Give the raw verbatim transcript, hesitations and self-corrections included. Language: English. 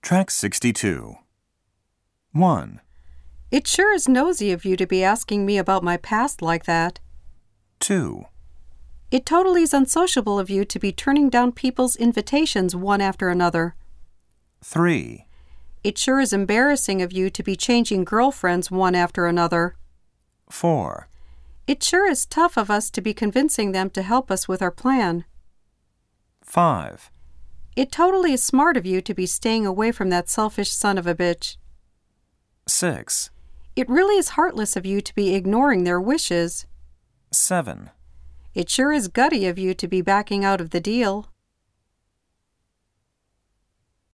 Track sixty-two. one. It sure is nosy of you to be asking me about my past like that. two. It totally is unsociable of you to be turning down people's invitations one after another. three. It sure is embarrassing of you to be changing girlfriends one after another. four. It sure is tough of us to be convincing them to help us with our plan. five. It totally is smart of you to be staying away from that selfish son of a bitch. six. It really is heartless of you to be ignoring their wishes. seven. It sure is gutty of you to be backing out of the deal.